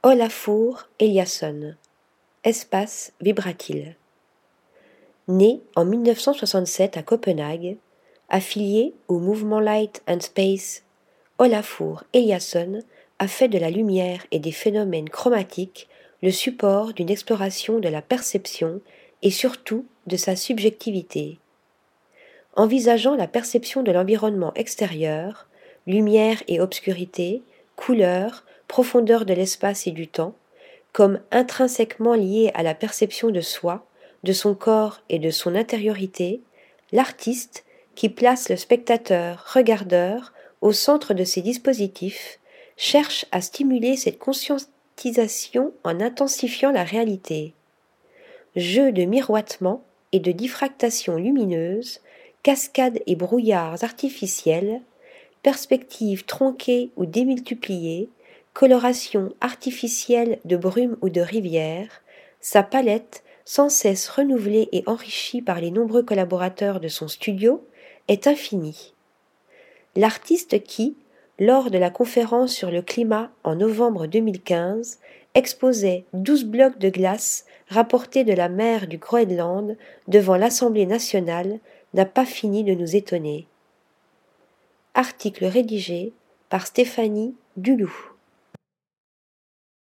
Olafur Eliasson. Espace vibra-t-il. Né en 1967 à Copenhague, affilié au mouvement Light and Space, Olafur Eliasson a fait de la lumière et des phénomènes chromatiques le support d'une exploration de la perception et surtout de sa subjectivité. Envisageant la perception de l'environnement extérieur, lumière et obscurité, couleur, profondeur de l'espace et du temps, comme intrinsèquement liés à la perception de soi, de son corps et de son intériorité, l'artiste, qui place le spectateur-regardeur au centre de ses dispositifs, cherche à stimuler cette conscientisation en intensifiant la réalité. Jeu de miroitement et de diffractation lumineuse, cascades et brouillards artificiels, perspectives tronquées ou démultipliées, coloration artificielle de brume ou de rivière, sa palette, sans cesse renouvelée et enrichie par les nombreux collaborateurs de son studio, est infinie. L'artiste qui, lors de la conférence sur le climat en novembre 2015, exposait 12 blocs de glace rapportés de la mer du Groenland devant l'Assemblée nationale, n'a pas fini de nous étonner. Article rédigé par Stéphanie Duloup.